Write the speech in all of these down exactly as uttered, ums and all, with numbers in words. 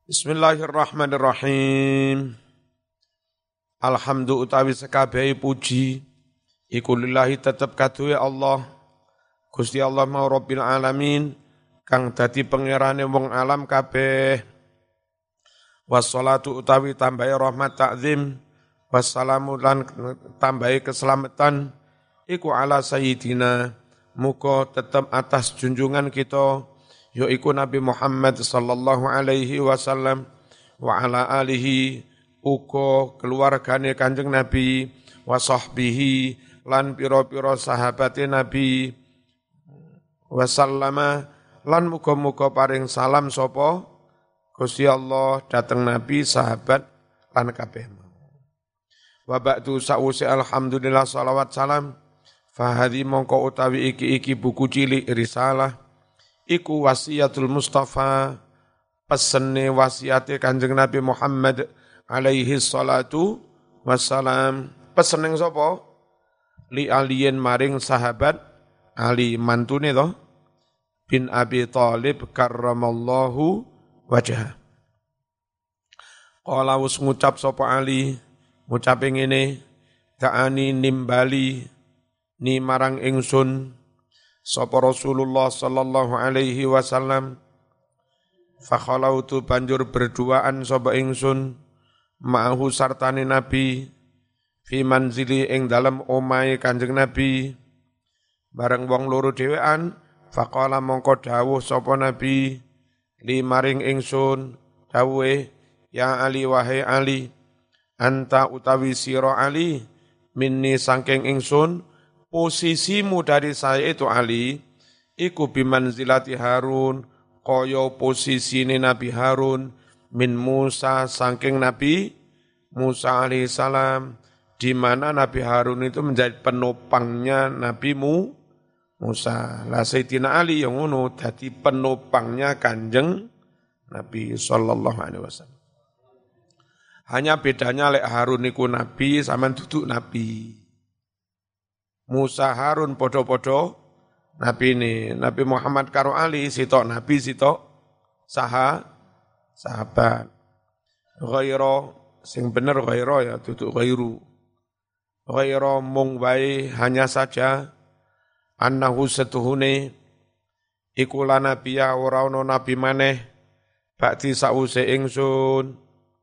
Bismillahirrahmanirrahim. Alhamdu utawi sekabehi puji iku lillahi tetep kaduwe Allah. Gusti Allah mau Rabbil alamin kang dadi pangerane wong alam kabeh. Wassalatu utawi tambahi rahmat ta'zim wassalamu lan tambahi keselamatan iku ala sayyidina muga tetep atas junjungan kita yaiku Nabi Muhammad sallallahu alaihi wasallam wa ala alihi uga keluargane Kanjeng Nabi wa sahbihi lan pira-pira sahabate Nabi wasallama lan muga-muga paring salam sapa Gusti Allah dateng Nabi sahabat lan kabeh. Wa ba'du sa'usi alhamdulillah salawat salam fahadhi mongko utawi iki-iki buku cilik risalah iku wasiatul Mustafa pesene wasiate Kanjeng Nabi Muhammad alaihi salatu wassalam. Pesene sapa? Li aliyin maring sahabat Ali mantune to bin Abi Thalib karramallahu wajhah. Qala wis ngucap sapa Ali ngucape ngene, ta'ani nimbali ni marang ingsun sapa Rasulullah sallallahu alaihi wasallam fa khalautu banjur berduaan sapa ingsun ma'ahu sartane Nabi fi manzili ing dalem omahe Kanjeng Nabi bareng wong loro dhewean faqala mongko dawuh sapa Nabi li maring ingsun dawuhe ya Ali wahai Ali anta utawi sira Ali minni saking ingsun posisimu dari saya itu Ali, iku bimanzilati Harun, kaya posisine Nabi Harun, min Musa saking Nabi Musa alaihissalam, di mana Nabi Harun itu menjadi penopangnya Nabi Mu, Musa. Lah Sayyidina Ali yang ngono dadi penopangnya Kanjeng Nabi sallallahu alaihi wasallam. Hanya bedanya lek Harun niku Nabi sampean duduk Nabi. Musa Harun podo-podo Nabi ini, Nabi Muhammad karo Ali sitok Nabi sitok saha sahabat. Ghaira sing bener ghaira ya duduk ghairu. Ghaira mung wae hanya saja annahu setuhune iku la nabiya ora ana nabi maneh bakti sause ingsun.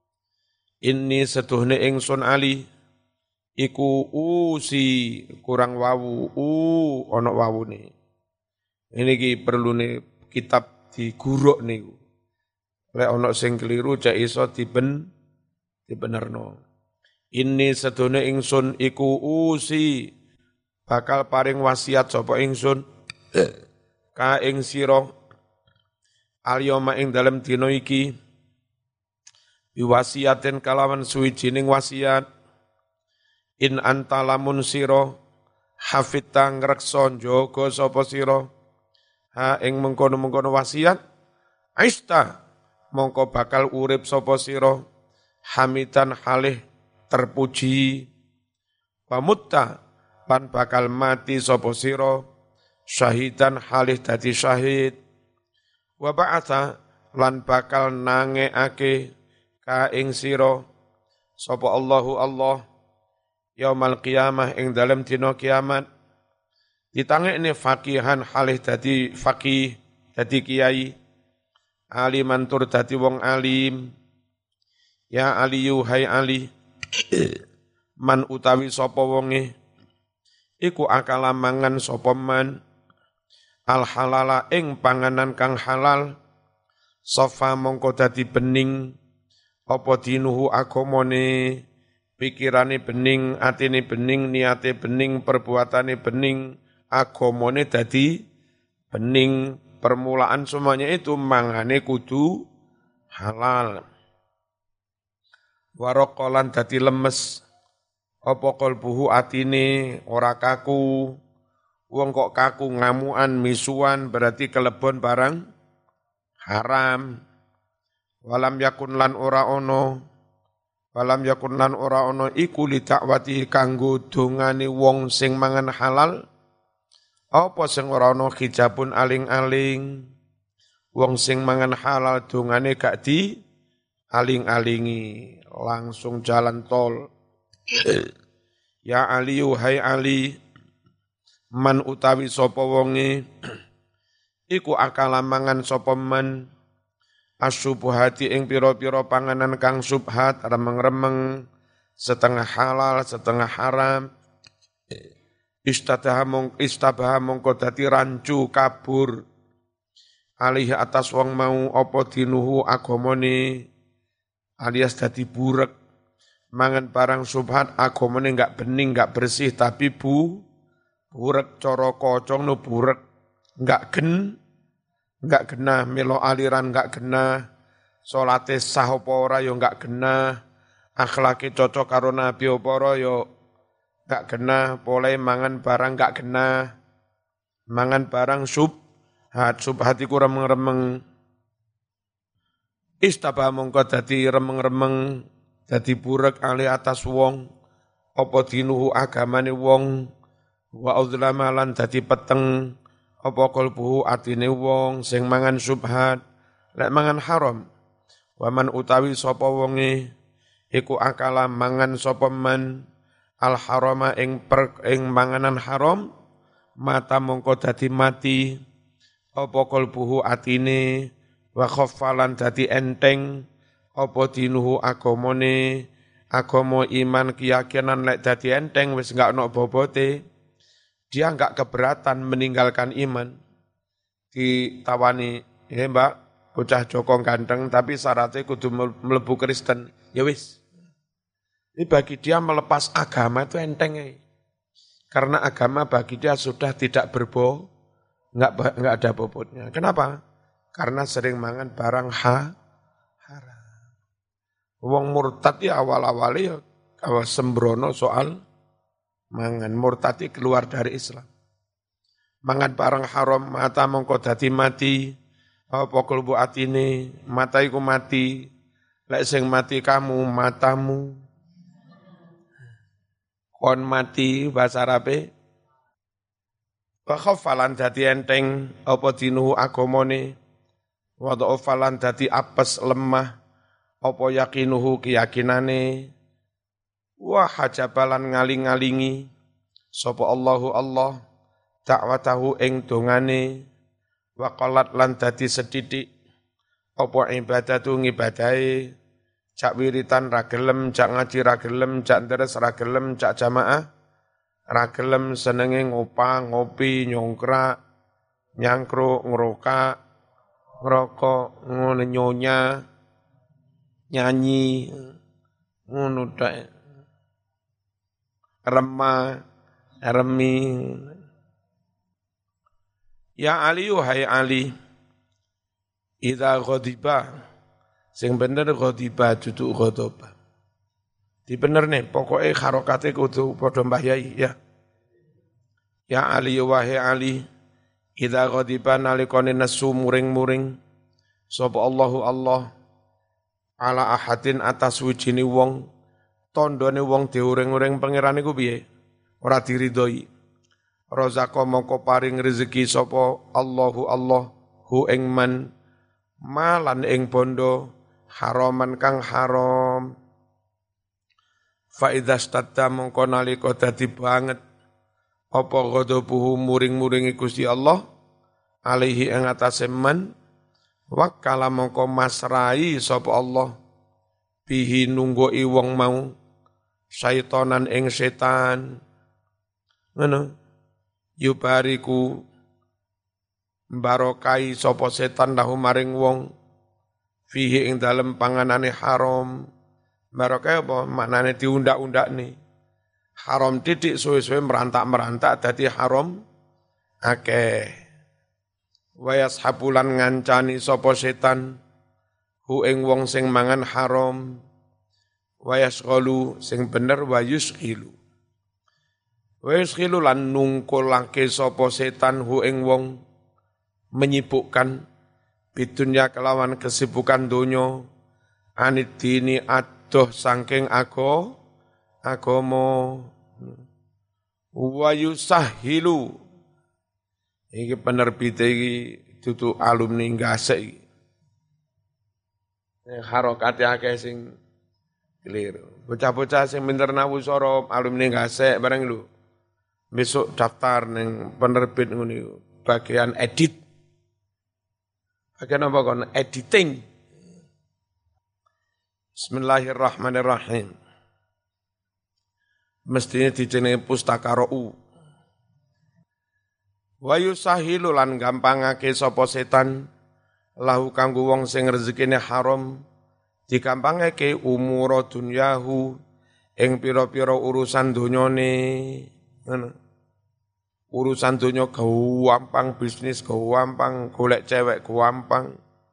Inni setuhune ingsun Ali iku usi kurang wawu u ana wawune. Ini ki perlune kitab diguruk niku. Lek ana sing keliru cek iso diben dibenerno. Ini sedune ingsun iku usi bakal paring wasiat sapa ingsun ka ing sira alyoma ing dalem dina iki biwasiaten kalawan suwijining wasiat in anta lamun sira hafidta ngreksa njaga sapa sira ha ing mengkono-mengkono wasiat aista mongko bakal urip sapa sira hamidan halih terpuji pamutta lan bakal mati sapa sira syahidan halih dadi syahid wa ba'atha lan bakal nangeake ka ing sira sapa Allahu Allah yaumal qiyamah ing dalem dina kiamat ditangekne faqihan halih dadi faqih dadi kiai aliman tur dadi wong alim ya aliyu hai Ali man utawi sapa wonge iku akala mangan sapa man al halala ing panganan kang halal sofa mongko dadi bening apa dinuhu agamane pikirane bening, atine bening, niate bening, perbuatane bening, agamane dadi bening, permulaan semuanya itu mangane kudu halal. Warokolan dadi lemes, apa kalbuhu atine ora kaku, wong kok kaku ngamuan, misuan berarti kelebon barang haram. Walam yakun lan ora ono Walam yakun lan ora ana iku li dakwati kanggo dongane wong sing mangan halal apa sing ora ana hijabun aling-aling wong sing mangan halal dongane gak di aling-alingi langsung jalan tol. Ya Ali hai Ali, man utawi sapa wonge iku akala mangan sapa man asyubuhati ing pira-pira panganan kang subhat remeng-remeng setengah halal setengah haram istadaha mong istabaha mongko dadi rancu kabur alih atas wong mau apa dinuhu agamane alias dadi burek mangan barang subhat agamane enggak bening enggak bersih tapi bu burek cara kocong no burek enggak gen enggak genah melo aliran enggak genah salate sah apa ora ya enggak genah akhlake cocok karo nabi apa ora ya enggak genah boleh mangan barang enggak genah mangan barang subhat subhat iku remeng-remeng istaba mongko dadi remeng-remeng dadi burek ali atas wong apa dinuhu agamane wong wa uzlama lan dadi peteng apa kalbuhu atine wong sing mangan subhat lek mangan haram waman utawi sapa wonge iku akala mangan sapa man al harama ing per ing manganan haram mata mongko dadi mati apa kalbuhu atine wa khaffalan dadi enteng apa dinuhu agamane agama iman keyakinan lek dadi enteng wis enggak ono bobote dia enggak keberatan meninggalkan iman ditawani he mbak bocah Joko ganteng tapi syaratnya kudu mlebu Kristen ya wis ini bagi dia melepas agama itu enteng ya. Karena agama bagi dia sudah tidak berbo enggak enggak ada bobotnya kenapa karena sering mangan barang ha haram wong murtad ya awal-awalnya ya awal sembrono soal mangan murtadi keluar dari Islam. Mangan barang haram mata mongko dadi mati. Apa kalbu atine mata iku mati. Lek sing mati kamu matamu. Kon mati bahasa Arabe. Wa khaffalan dadi enteng apa dinuhu agamane. Wa dha'afalan dadi apes lemah apa yakinuhu keyakinane. Wa hajabalan ngaling-ngalingi sapa Allahu Allah dakwatahu ing dongane wa qalat lan dadi sedidik apa ibadatu ngibadahe cak wiritan ra gelem cak ngaji ra gelem cak deres ra gelem cak jamaah ra gelem senenge ngopang ngopi nyongkrak nyangkruk ngrokak ngrokok ngono nyonya nyanyi ngono dak remah, remi. Ya Ali, wahai Ali, idza ghadiba, sing bener ghadiba dudu ghadaba. Di bener nih, pokoknya harokatnya kudu padha Mbah Yai ya. Ya Ali, wahai Ali, idza ghadiba nalikane nesu muring-muring sapa Allahu Allah ala ahadin atas wijine wong tondone wong diuring-uring pangeran iku piye? Ora diridhoi. Razaqo mongko paring rezeki sapa Allahu Allah hu ing man malan ing bondo haraman kang haram. Fa idza stadda mongko nalika dadi banget apa ghadabuhu muring-muringi Gusti Allah alaihi ing atase man wakala mongko masrai sapa Allah bihi nunggoi wong mau syaitanan ing setan ngono yubariku barokai sapa setan lahu maring wong fihi ing dalem panganane haram barokai apa maknane diundak-undakne haram titik suwe-suwe merantak-merantak dadi haram akeh wayas hapulan ngancani sapa setan hu ing wong sing mangan haram wayas qalu sing bener wayus khilu wayus khilu lan nungkulake sapa setan hu ing wong menyibukkan bidunya kelawan kesibukan donya anid dini adoh saking ago agama wayusahilu iki penerbit iki dudu alumni ngasek iki Harokate akeh sing keliru. Bocah-bocah sing pinter nawu sora alumni gasek bareng lho. Besok daftar ning penerbit ngono iku, bagian edit. Bagian apa kon? Editing. Bismillahirrahmanirrahim. Mestinya dijenenge pustaka ro'u. Wa yusahilu lan gampangake sapa setan lahu kanggo wong sing rezekine haram digampangake umura dunyahu ing pira-pira urusan donyane. Ngono. Urusan donya gampang, bisnis gampang, golek cewek gampang.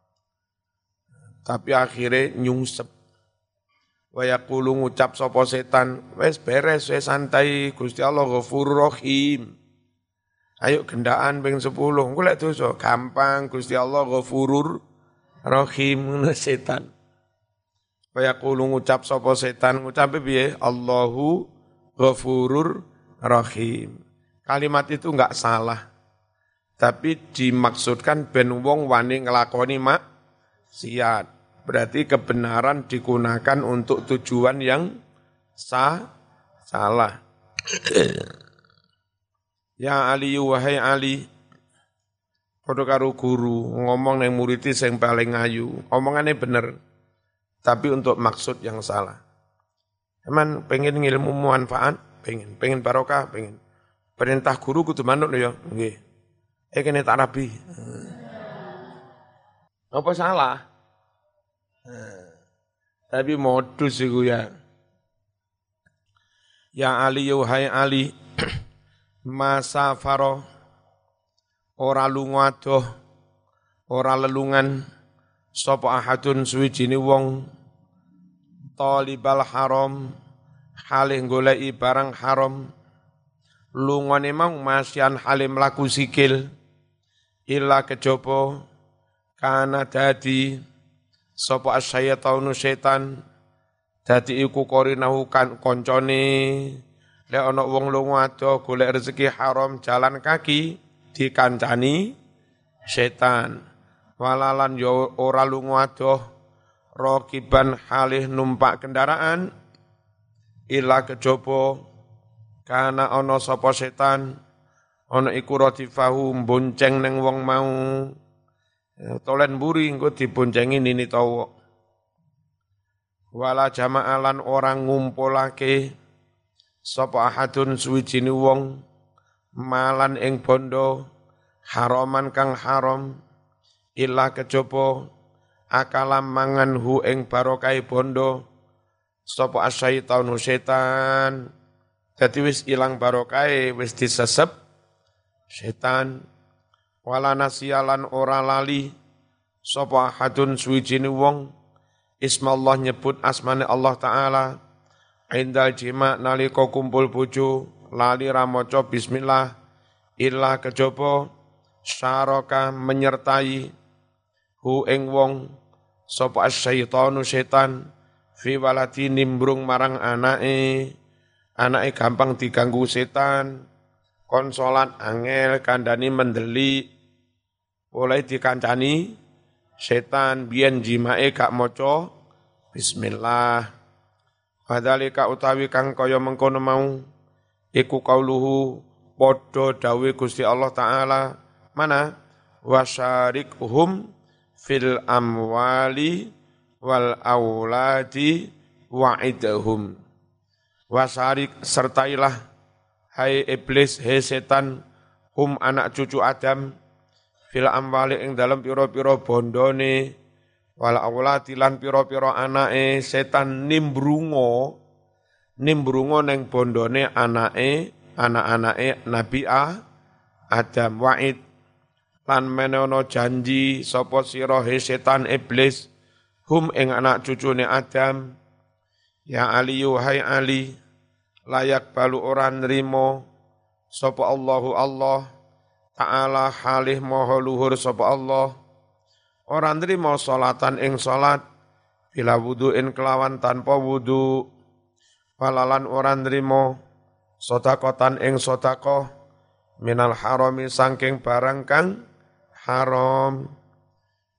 Tapi akhirnya nyungsep. Wa yaqulu ngucap sapa setan, wis beres, wis santai, Gusti Allah Ghafurur Rahim. Ayo gendaan ping sepuluh, golek dosa gampang, Gusti Allah Ghafurur Rahim ngono setan. Wa yaqulu ngucap sapa setan, ngucape piye? Allahu Ghafurur Rahim. Kalimat itu enggak salah. Tapi dimaksudkan ben wong wani nglakoni maksiat. Berarti kebenaran digunakan untuk tujuan yang sah, salah. Ya Ali, wahai Ali, padha karo guru ngomong nang murid sing paling ayu, omongane bener, tapi untuk maksud yang salah. Emang pengen ngilmu manfaat, pengen, pengen barokah, pengen. Perintah guru kudu manut lho ya, nggih. Eh kene tak rabi. Apa salah? Tapi modus iku ya. Ya Ali, wahai Ali, masa faro ora lunga adoh, ora lelungan sapa ahadun suwijine wong talibal haram halih goleki barang haram lungane mau masyan halim laku sikil illa kejaba kana dadi sapa asyaitan setan dadi iku korinahu kan koncone lek ana wong lunga ado golek rezeki haram jalan kaki dikancani setan walalan yo ora lunga ado rakiban halih numpak kendaraan illa kejaba kana ana sapa setan ana iku ratifahu bonceng ning wong mau tolen mburi engko diboncengi nini tawa wala jama'alan orang ngumpulake sapa ahadun suwijine wong malan ing bondo haraman kang haram illa kejaba akalam mangan hu ing barokah bondo sapa asyaitanu setan. Dadi wis ilang barokahe, wis disesep setan. Wala nasialan ora lali sapa ahadun suwijine wong ismallah nyebut asmane Allah taala indal jima nalika kumpul bojo lali ra maca bismillah illa kejaba syaraka menyertai hu ing wong sapa asyaitanu setan fi walati nimbrung marang anake. Anake gampang diganggu setan, kon salat angel kandhani mendeli, oleh dikancani setan biyen jimake gak maca bismillah. Padhalika utawi kang kaya mengkono mau iku kauluhu padha dawuhe Gusti Allah taala mana wasyarikhum fil amwali wal auladi wa'idhum. Wasarik sertailah hai iblis hai setan hum anak cucu Adam fil amwali ing dalem pira-pira bondone wal aulati lan pira-pira anake setan nimbrungo nimbrungo ning bondone anake anak-anake Nabi A Adam wa'id lan menono janji sapa sira hai setan iblis hum ing anak cucune Adam. Ya Ali, wahai Ali, layak balu orang nrimo sapa Allahu Allah Ta'ala halih maha luhur sapa Allah orang nrimo salatan ing salat bila wudu'in kelawan tanpa wudu walalan orang nrimo sedekatan ing sedekah minal harami saking barang kang haram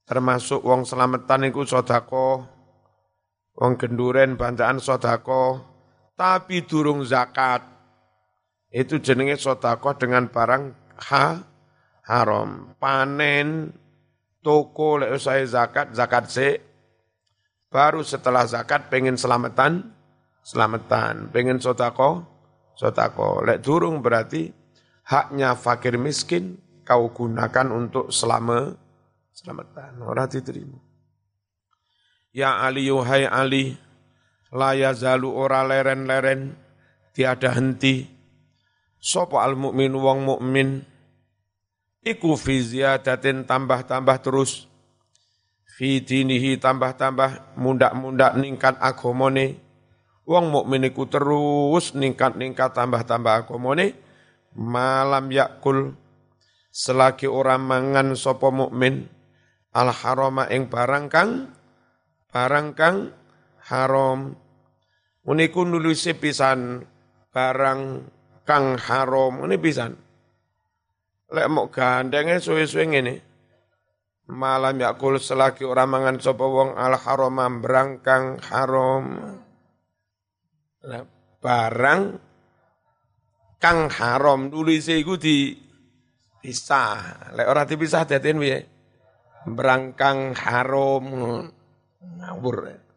termasuk wong slametan iku sedekah, wong genduren bantaan sedekah, tapi durung zakat. Itu jenenge sedekah dengan barang ha, haram. Panen toko lek usai zakat, zakat sik. Baru setelah zakat pengen selamatan, selamatan. Pengen sedekah, sedekah. Lek durung berarti haknya fakir miskin kau gunakan untuk selama selamatan. Ora diterima. Ya Ali yuhai Ali, la yazalu ora leren-leren, tiada henti. Sopo al mukmin wong mukmin, iku fi ziyadatin tambah-tambah terus, fi dinihi tambah-tambah mundak-mundak ningkat agamane. Wong mukmin iku terus ningkat-ningkat tambah-tambah agamane, malam yakul selagi orang mangan sopo mukmin al harama ing barang kang barang kang haram. Uniku nulise pisan barang kang haram ini pisan. Lek mok gandenge suwe-suwe ngene. Malam yakul selagi orang mangan sapa wong al harama barang kang haram. Lah barang kang haram nulise iku di pisah. Lek ora dipisah daden piye? Berangkang haram ngawur.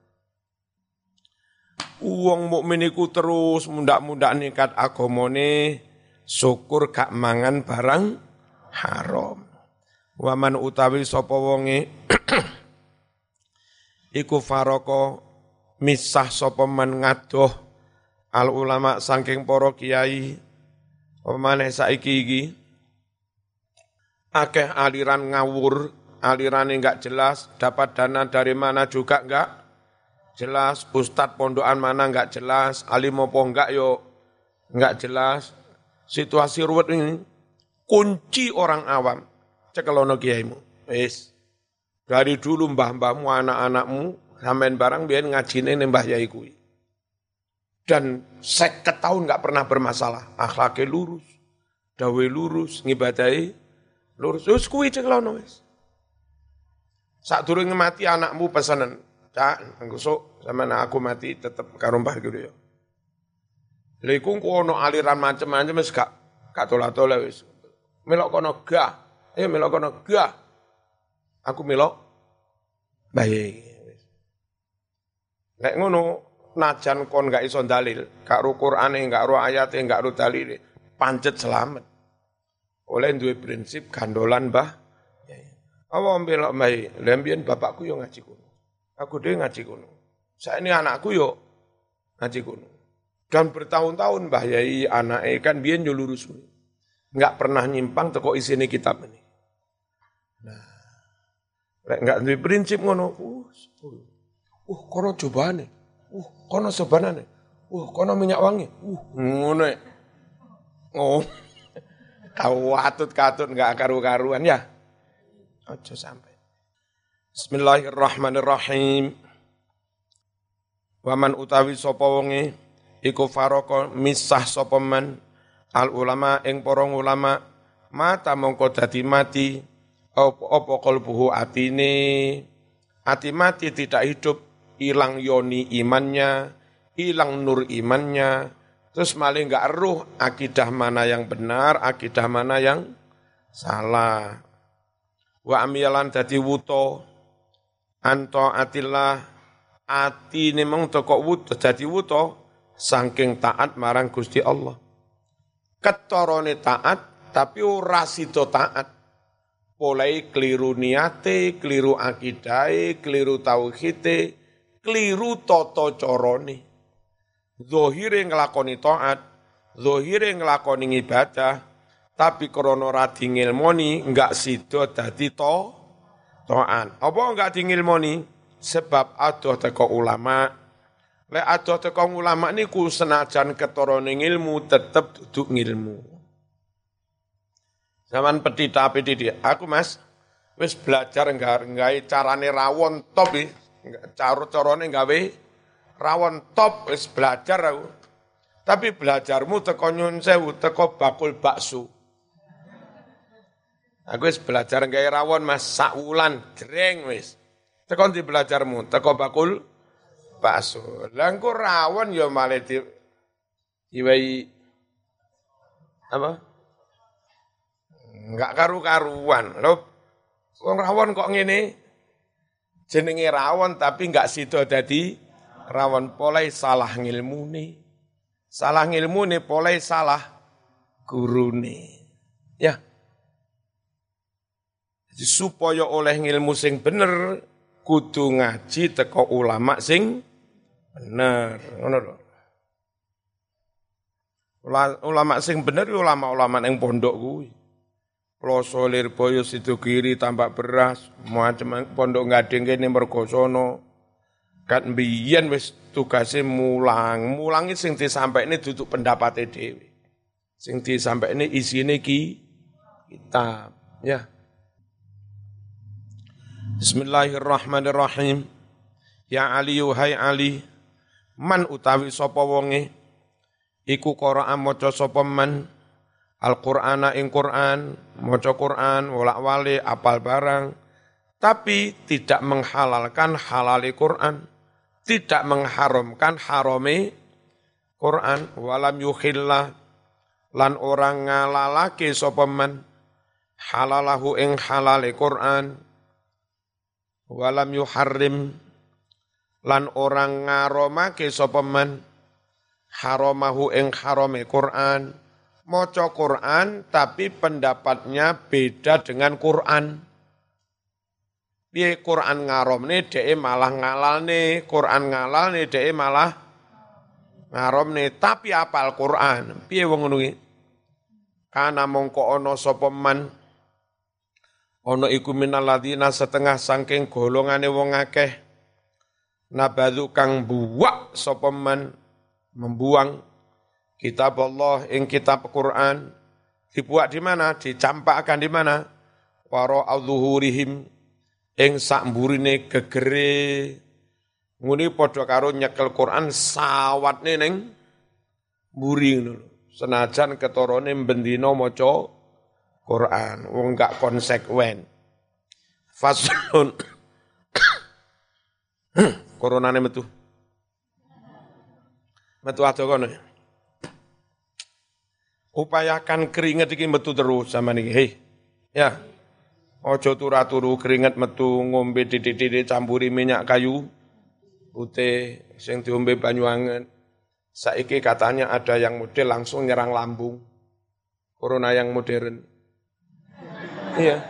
Wong mukmin iku terus mundak-mundak nikat agamane, syukur gak mangan barang haram. Waman utawi sapa wonge iku faroko misah sapa man ngadoh al ulama saking para kiai. Pemane saiki iki akeh aliran ngawur, alirannya enggak jelas, dapat dana dari mana juga enggak jelas, ustadz pondokan mana enggak jelas, alim apa enggak yo enggak jelas. Situasi ruwet ini kunci orang awam. Cekelono kiaimu. Wis. Dari dulu mbah-mbahmu, anak-anakmu sampean barang biyen ngajine ning Mbah Yai kuwi. Dan seket tahun enggak pernah bermasalah, akhlake lurus, dawe lurus, ngibadahi lurus. Wis kuwi cekelono wis. Sadurunge mati anakmu pesanan, "Cak, engko sok sampean aku mati tetep karo Mbah gitu ya." Lha iku ono aliran macam-macam wis gak gak tola-tola wis. Melok kono gah, eh melok kono gah. Aku melok bae wis. Nek ngono najan kon gak iso dalil, gak ro Qur'ane, gak ro ayate, gak ro dalile, pancet selamat. Oleh duwe prinsip gandolan Mbah. Apa mbelok bae, lha mbiyen bapakku yo ngaji kono. Aku dhewe ngaji kono. Saiki anakku yo ngaji kono. Dan bertahun-tahun Mbah Yai anake kan biyen yo lurus. Enggak pernah nyimpang teko isine kitab ini. Nah, lek enggak duwe prinsip ngono, uh, uh kono cobane. Uh, kono sobanane. Uh, kono minyak wangi. Uh, ngono. Oh. Kau atut-katut enggak karu-karuan ya. Aja sampai. Bismillahirrahmanirrahim. Waman utawi sapa wonge iku faroko misah sapa man al ulama ing para ulama mata mongko dadi mati apa qalbuhu atine ati mati tidak hidup, hilang yoni imannya, hilang nur imannya, terus malah enggak eruh akidah mana yang benar, akidah mana yang salah. Wa amiyalan dadi wuto anto atillah atine mong teko wuto dadi wuto saking taat marang Gusti Allah. Ketorone taat tapi ora sida taat. Polai keliru niate, keliru akidahe, keliru tauhide, keliru tata carane. Zahire nglakoni taat, zahire nglakoni ibadah, tapi krana ora dingilmoni enggak sida dadi to taat. Apa enggak dingilmoni? Sebab adoh teko ulama. Lek adoh teko ulama niku senajan ketorone ilmu tetep duduk ngilmu. Zaman petita-petiti, aku Mas wis belajar nggawe carane rawon top iki. Cara-carane gawe rawon top wis belajar aku. Tapi belajarmu teko nyun sewu, teko bakul bakso. Aku wis belajar gawe rawon Mas sak wulan jreng wis. Teko ndi belajarmu? Teko bakul bakso. Lah engko rawon ya malah di iwai apa? Enggak karu-karuan. Lho, wong rawon kok ngene? Jenenge rawon tapi enggak sida dadi rawon polai salah ngilmune. Salah ngilmune polai salah gurune. Ya. Jadi supaya oleh ngilmu sing bener kudu ngaji teko ulama sing bener. Ngono lho. Ulama sing bener ulama-ulama ning pondok kuwi. Ploso Lirboyo Sidogiri tambak beras, macam pondok Gading kene mergo sono. Kan mbiyen wis tugase mulang, mulangi sing disampaikne duduk pendapate dhewe. Sing disampaikne isine ki kitab, ya. Bismillahirrahmanirrahim. Ya Ali hai Ali, man utawi sapa wonge iku Qur'an maca sapa man Al-Qur'ana ing Qur'an, maca Qur'an wolak-walik apal barang, tapi tidak menghalalkan halali Qur'an, tidak mengharamkan harame Qur'an, walam yukhillah lan orang ngalalake sapa man halalahu ing halale Qur'an, walam yuharrim lan orang ngaromake sapa man haramahu ing harame Qur'an. Maca Qur'an tapi pendapatnya beda dengan Qur'an. Piye Qur'an ngaromne dhek malah ngalalne, Qur'an ngalalne dhek malah ngaromne, tapi apal Qur'an. Piye wong ngono iki? Kana mongko ana sapa man ana iku minal ladina setengah saking golongane wong akeh nabadzu kang buwak sapa man membuang kitab Allah ing kitab Quran dibuat di mana? Dicampakkan di mana? Waro al-zuhurihim ing sakmburine gegere. Ngene padha karo nyekel Quran sawatne ning mburi ngono lho. Senajan ketorone bendina maca Quran, wong gak konsekuen. Faslun Coronane metu. Metu ado kono. Upayakan keringet iki metu terus sama niki. Hei, ya. Ojo turu-turu keringet metu ngombe titik-titik campuri minyak kayu putih sing diombe banyu anget. Saiki katanya ada yang model langsung nyerang lambung. Corona yang modern. Iya.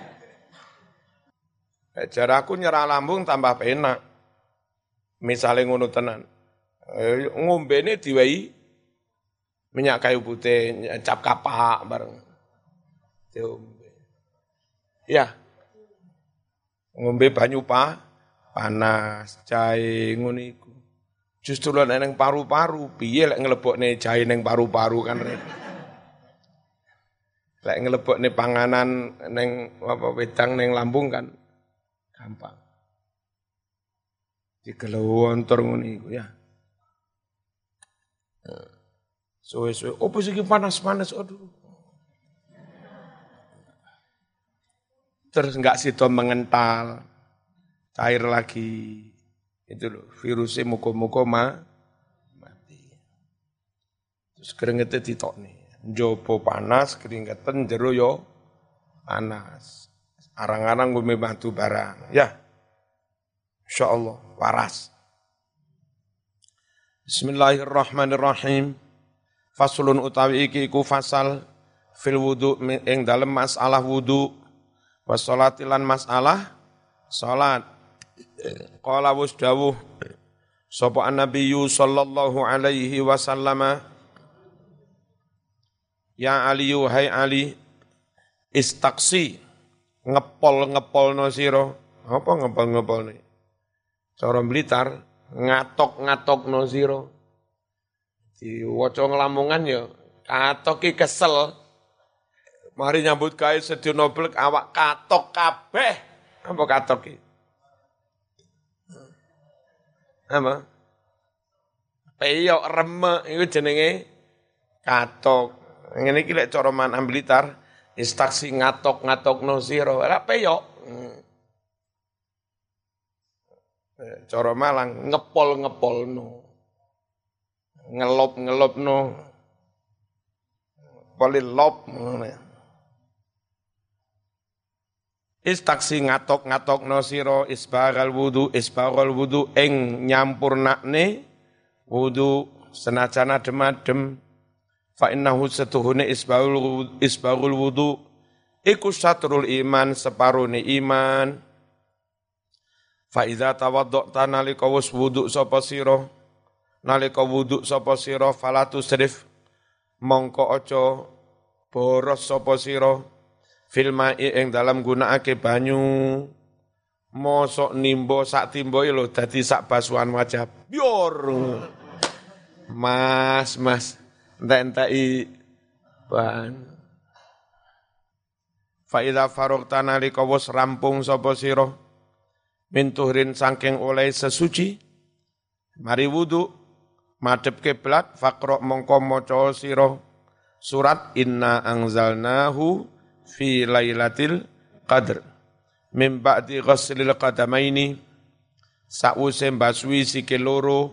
Cara aku nyerang lambung tambah penak. Misalnya ngono tenan. E, ngombene diwehi minyak kayu putih, cap kapak bareng. Diombe. Ya. Ngombe banyu pa, panas, jahe ngono iku. Justru lek nang paru-paru, piye lek nglebokne jahe nang paru-paru kan repot. Lek nglebokne panganan nang apa wedang nang lambung kan gampang. Digelontor ngono iku ya. Suwe-suwe, opo sing panas-panas, aduh. Terus enggak sido mengental, cair lagi. Itu loh, virusnya muka-muka ma, mati. Terus keringetnya ditokne. Njopo panas, keringetan jero yo panas. Arang-arang gue bantu barang. Ya, insyaallah waras. Bismillahirrahmanirrahim. Faslun utawi iki iku fasal fil wudu ing dalem masalah wudu wassalati lan masalah salat. Qala wus dawuh sapa annabiyyu sallallahu alaihi wasallama ya Ali hai Ali istaqsi ngepol-ngepolno sira. Apa ngepol-ngepolne? Cara Blitar ngatok-ngatokno sira. Diwaca ngelamungan ya, katok ki kesel. Mari nyambut gawe sedina blek awak katok kabeh. Apa katok ki? Apa? Peyok remek iku jenenge katok. Ngene iki lek cara man Blitar Istaksi ngatok-ngatokno sira, ora peyok. Cara Malang ngepol-ngepolno. Ngelop-ngelopno. Polilop ngono. Istaksi ngatok-ngatokno sira isbaghal wudu isbaghal wudu ing nyampurnakne wudu senajan adem-adem fa innahu satuhune isbaghul isbaghul wudu iku satrul iman separone iman fa idza tawaddata nalika wis wudu sapa sira nalika wudu sapa sira falatu srif mongko aja boros sapa sira filmai ing dalam gunakake banyu mosok nimbo sak timboe lho dadi sak basuhan wajah bior mas mas entek-enteki ban fa idza faragta nalika wis rampung sapa sira min tuhrin saking oleh sesuci mari wudu madhep kiblat faqra mongko maca sira surat inna anzalnahu fi lailatul qadr min ba'di ghuslil qadamaini sause mbasui sikil loro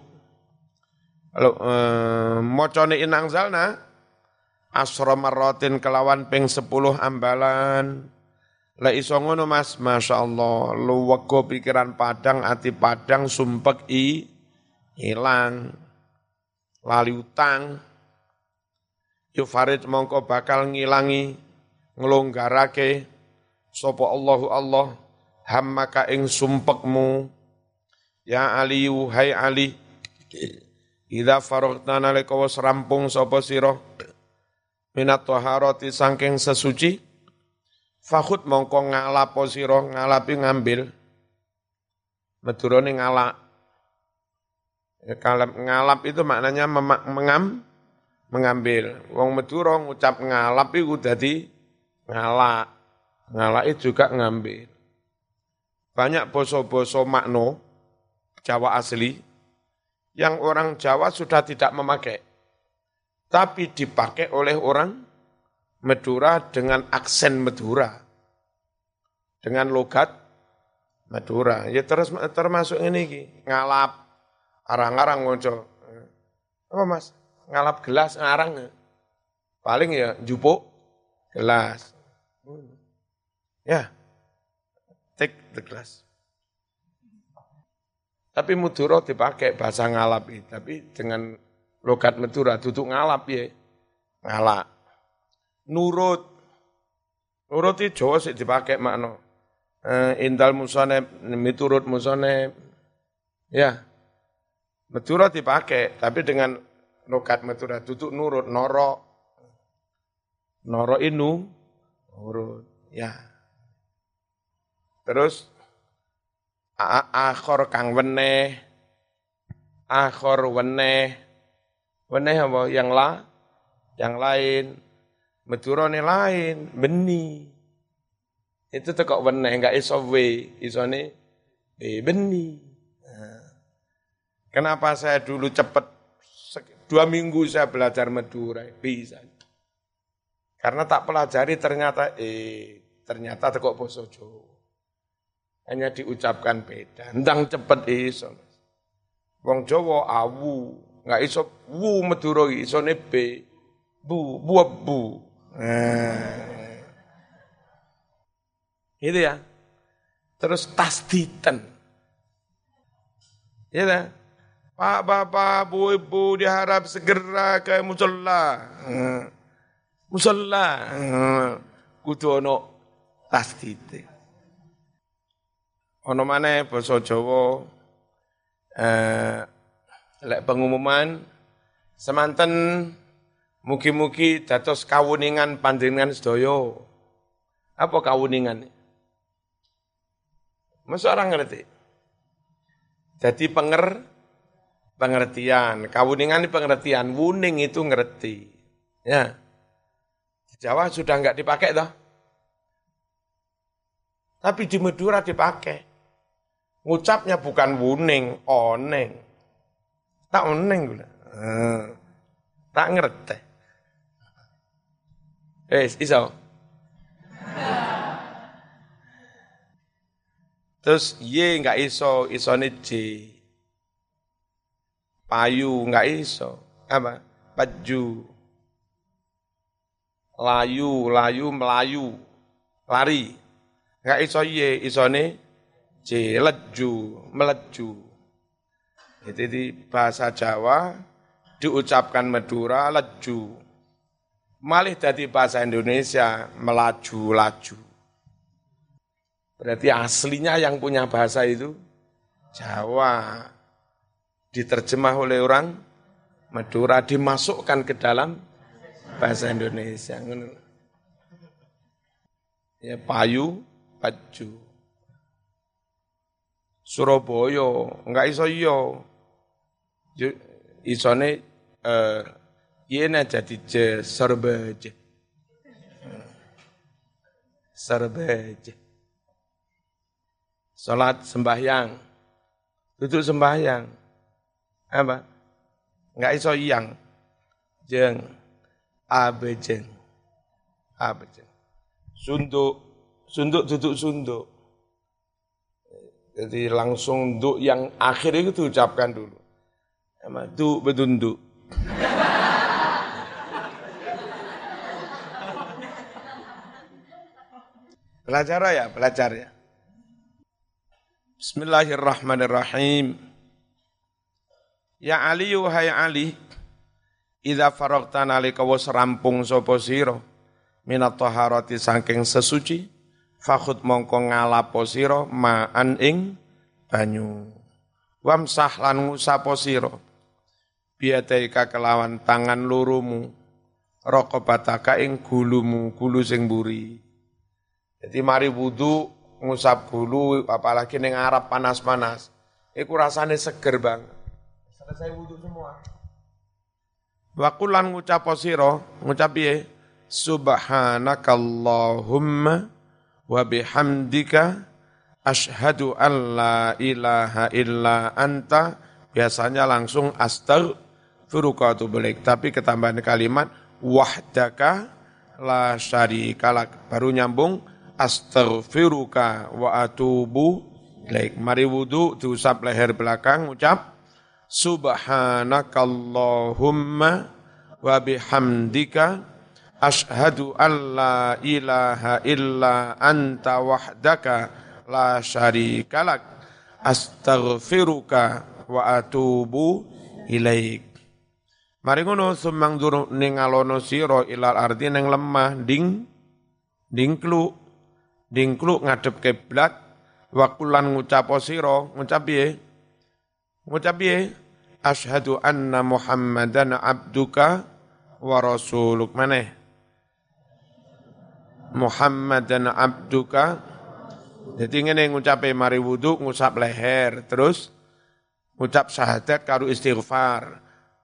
uh, macane inang zalna asra marratin kelawan ping sepuluh ambalan la iso ngono Mas masyaallah luwego pikiran padang ati padang sumpek i ilang lali utang yufarid mongko bakal ngilangi nglonggarake sapa Allahu Allah hammaka ing sumpekmu ya Ali hai Ali idza faragta nalika wis rampung sapa sira minat taharati saking sesuci fakhut mongko ngalapo sira ngalapi ngambil medurane ngalak kalem ngalap itu maknanya mengam mengambil wong Madura ngucap ngalap iku dadi ngalak, ngalak itu juga ngambil. Banyak boso-boso makno Jawa asli yang orang Jawa sudah tidak memakai, tapi dipakai oleh orang Madura dengan aksen Madura, dengan logat Madura. Ya terus termasuk ini ngalap, arang-arang ngoco. Apa Mas? Ngalap gelas ngarang. Paling ya jupuk gelas. Ya, take the glass. Tapi Madura dipakai bahasa ngalap itu, tapi dengan logat Madura duduk ngalap ya, ngalak. Nurut, nurut itu Jawa sih dipakai makna. Uh, indal musoneb, miturut musoneb, ya. Madura dipakai, tapi dengan logat Madura duduk nurut, noro, noro inu. Urut, ya. Terus akhor kang weneh, akhor weneh, weneh apa? Yang la, yang lain, Madura ne lain, beni. Itu tekok weneh, enggak iso we, isone eh beni. Nah. Kenapa saya dulu cepat dua minggu saya belajar Madura bisa? Karena tak pelajari ternyata, eh, ternyata tekok basa Jawa. Hanya diucapkan beda. Ndang cepet iso. Wong Jawa awu, enggak iso wu Madura isone b. Bu, buab bu. Nah. Itu ya. Terus tasditen. Ya dah. Pak Bapak, Bu Ibu diharap segera ke musala. Nah. Musalla kudu ana tasdite. Ana maneh basa Jawa eh lek pengumuman semanten mugi-mugi dados kawuningan panjenengan sedaya. Apa kawuningan? Masa orang ngerti? Jadi penger pengertian, kawuningan ini pengertian, wuning itu ngerti. Ya. Jawa sudah enggak dipakai toh. Tapi di Madura dipakai. Ngucapnya bukan wuning, oneng. Tak oneng gula. Hmm. Tak ngerti. Eh, iso. Terus Y enggak iso, isone J. Payu enggak iso. Apa? Baju. Layu, layu, melayu. Lari. Enggak iso Y, isone J. Leju, meleju. Itu di bahasa Jawa diucapkan Madura leju. Malih dari bahasa Indonesia melaju-laju. Berarti aslinya yang punya bahasa itu Jawa. Diterjemah oleh orang Madura, dimasukkan ke dalam bahasa Indonesia. Ya, payu, baju. Surabaya, enggak iso iya. Isone eh yene jadi je serbeje. Serbeje. Salat sembahyang. Duduk sembahyang. Apa? Enggak iso yang. Jeng. Abejeng. Abejeng. Sunduk. Sunduk duduk sunduk. Jadi langsung duk yang akhir itu diucapkan dulu. Sama duk bedunduk. Belajar ya, belajar ya. Bismillahirrahmanirrahim. Ya Ali hai Ali, idza faragta nalika wis rampung sapa sira minat taharati saking sesuci, fakhud mongko ngalapo sira ma'an ing banyu. Wamsah lan ngusapo sira biadaika kelawan tangan lurumu, raqabataka ing gulumu, gulu sing mburi. Jadi mari wudu ngusap gulu, apalagi ning Arab panas-panas, iku rasane seger banget. Selesai wudu semua. Wa qulan ngucap sira, ngucap piye? Subhanakallahumma wa bihamdika asyhadu an la ilaha illa anta. Biasanya langsung astaghfiruka wa atubu ilaik, tapi ketambahan kalimat wahdaka la syarikalak, baru nyambung astaghfiruka wa atubu ilaik. Mari wudu diusap leher belakang, ucap subhanakallahumma wa bihamdika asyhadu an la ilaha illa anta wahdaka la syarikalak astaghfiruka wa atubu ilaik. Mari ngono sumang dur ningalono sira ilal ardi ning lemah ding dingkluk dingkluk ngadep kiblat wa kulan ngucap sira ngucap piye ngucap piye asyhadu anna muhammadan abduka wa rasuluk maneh muhammadan abduka. Jadi ngene ngucape mari wudu ngusap leher terus ngucap syahadat karo istighfar.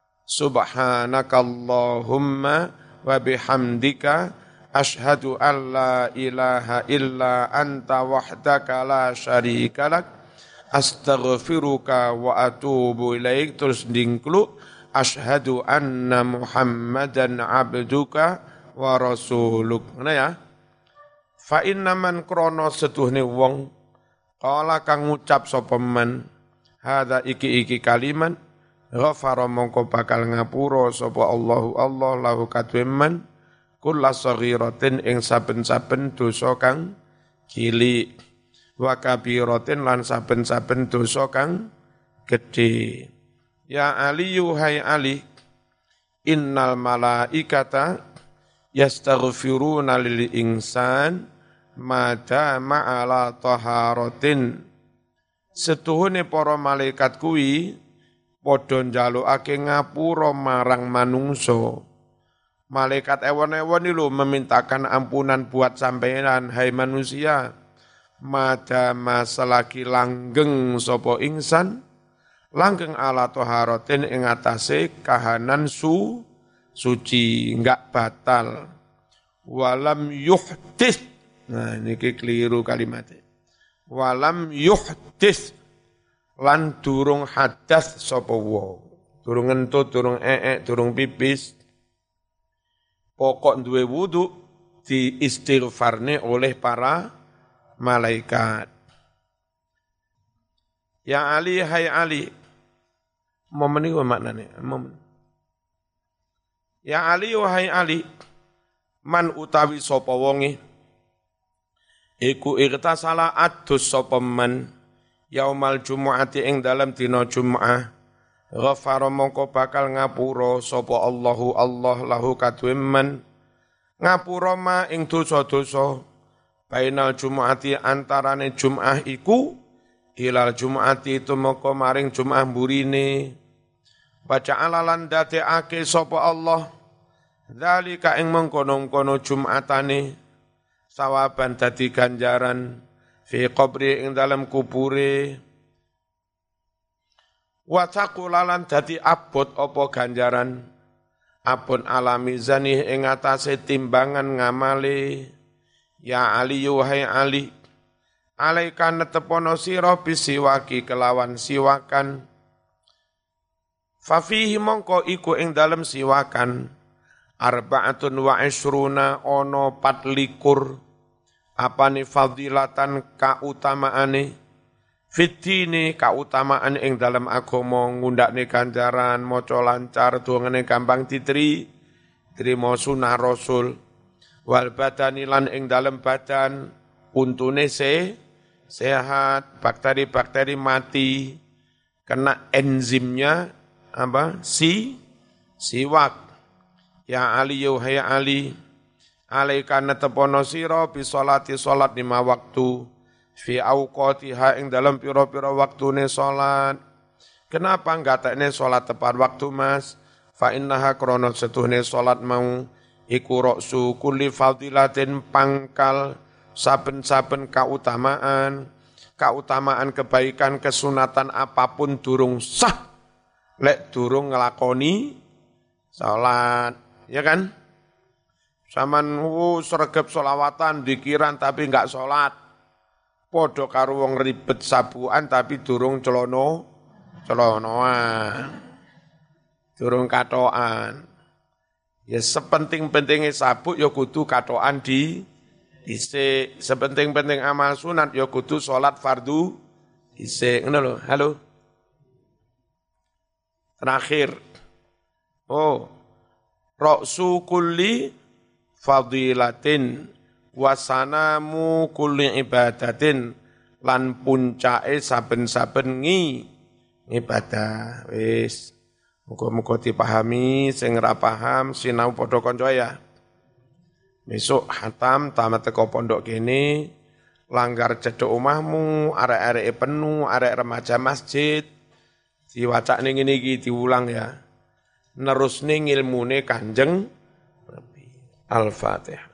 Subhanakallahumma wa bihamdika asyhadu an la ilaha illa anta wahdaka la syarikalak astaghfiruka wa atubu ilaik. Terus dingkluk asyhadu anna muhammadan abduka wa rasuluk. Mana ya? Fa inna man krono setuhne wong kala kang ngucap sapa man hadza iki-iki kalimat ghafara mongko bakal ngapura sapa Allahu Allah lahu kadwe man kulla saghiratin ing saben-saben dosa kang cilik wa kabiratin lan saben-saben dosa kang gedhe. Ya Ali hai Ali, innal malaikata yastaghfiruna lil insan mada ma'ala taharatin. Setuhune para malaikat kuwi padha njalukake ngapura marang manungsa. Malaikat ewon-ewon lho memintakan ampunan buat sampeyan hai manusia. Mada masalaki langgeng sapa ingsan, langgeng ala taharatin ing atase kahanan su suci, enggak batal. Walam yuhdits. Nah, ini keliru kalimatnya. Walam yuhdits lan durung hadas sapa wong. Durung ngentut, durung eek, durung pipis. Pokok duwe wudu diistighfarne oleh para malaikat. Ya Ali, hai Ali. Momen ini maknanya, momen. Ya Ali, wahai Ali. Man utawi sapa wonge iku irtasala adus sapa man yaumal jumu'ati ing dalam dina Jum'ah ghafara mongko bakal ngapura sapa Allahu Allah lahu kadue man ngapura ma ing dosa-dosa bainal jumu'ati antarane Jum'ah iku ilal jumu'ati tumeka maring Jum'ah burine baca alalan dadekake sapa Allah dzalika ing mengkono-kono Jum'atane sawaban dadi ganjaran fi qabri ing dalam kubure wa taqulalan dadi abot apa ganjaran abun alami zani ing atase timbangan ngamale ya Ali yuhai Ali alaika netepono sira bisiwaki kelawan siwakan fa fihi mongko iku ing dalem siwakan arba'atun wa isruna ono patlikur apane fadilatan kautamaane fitine kautamaan ing dalam agama ngundakne ganjaran maca lancar dongane gampang ditri trimo sunah rasul wal badani lan ing dalam badan untune se sehat bakteri-bakteri mati kena enzimnya apa si siwak. Ya Ali yuhai Ali alaika netepono sira bi sholati salat lima waktu fi auqatiha ing dalam pira-pira waktune salat. Kenapa nggatekne salat tepat waktu Mas? Fa innaha krana setuhne salat mau iku ra'su kulli fadilatin pangkal saben-saben kautamaan kautamaan kebaikan kesunatan apapun durung sah lek durung nglakoni salat. Ya kan? Saman uh, sregep solawatan, dikiran tapi enggak sholat. Podo karo wong ribet sabuan tapi durung celono, celonoan. Durung katoan. Ya sepenting-pentingnya sabuk ya kudu katoan di dhisik. Sepenting-penting amal sunat ya kudu sholat fardu dhisik. Ngono lho. Halo. Terakhir. Oh. Ra'su kulli fadilatin wasanamu kulli ibadatin lan puncake saben-saben ngi ibadah. Wis muga-muga dipahami sing ora paham sinau padha kanca ya. Besok hatam tamat teko pondok kene langgar cedhek omahmu arek-areke penuh arek remaja masjid diwacakne ngene iki diulang ya. Nerusne ngilmune Kanjeng Nabi. Al-Fatihah.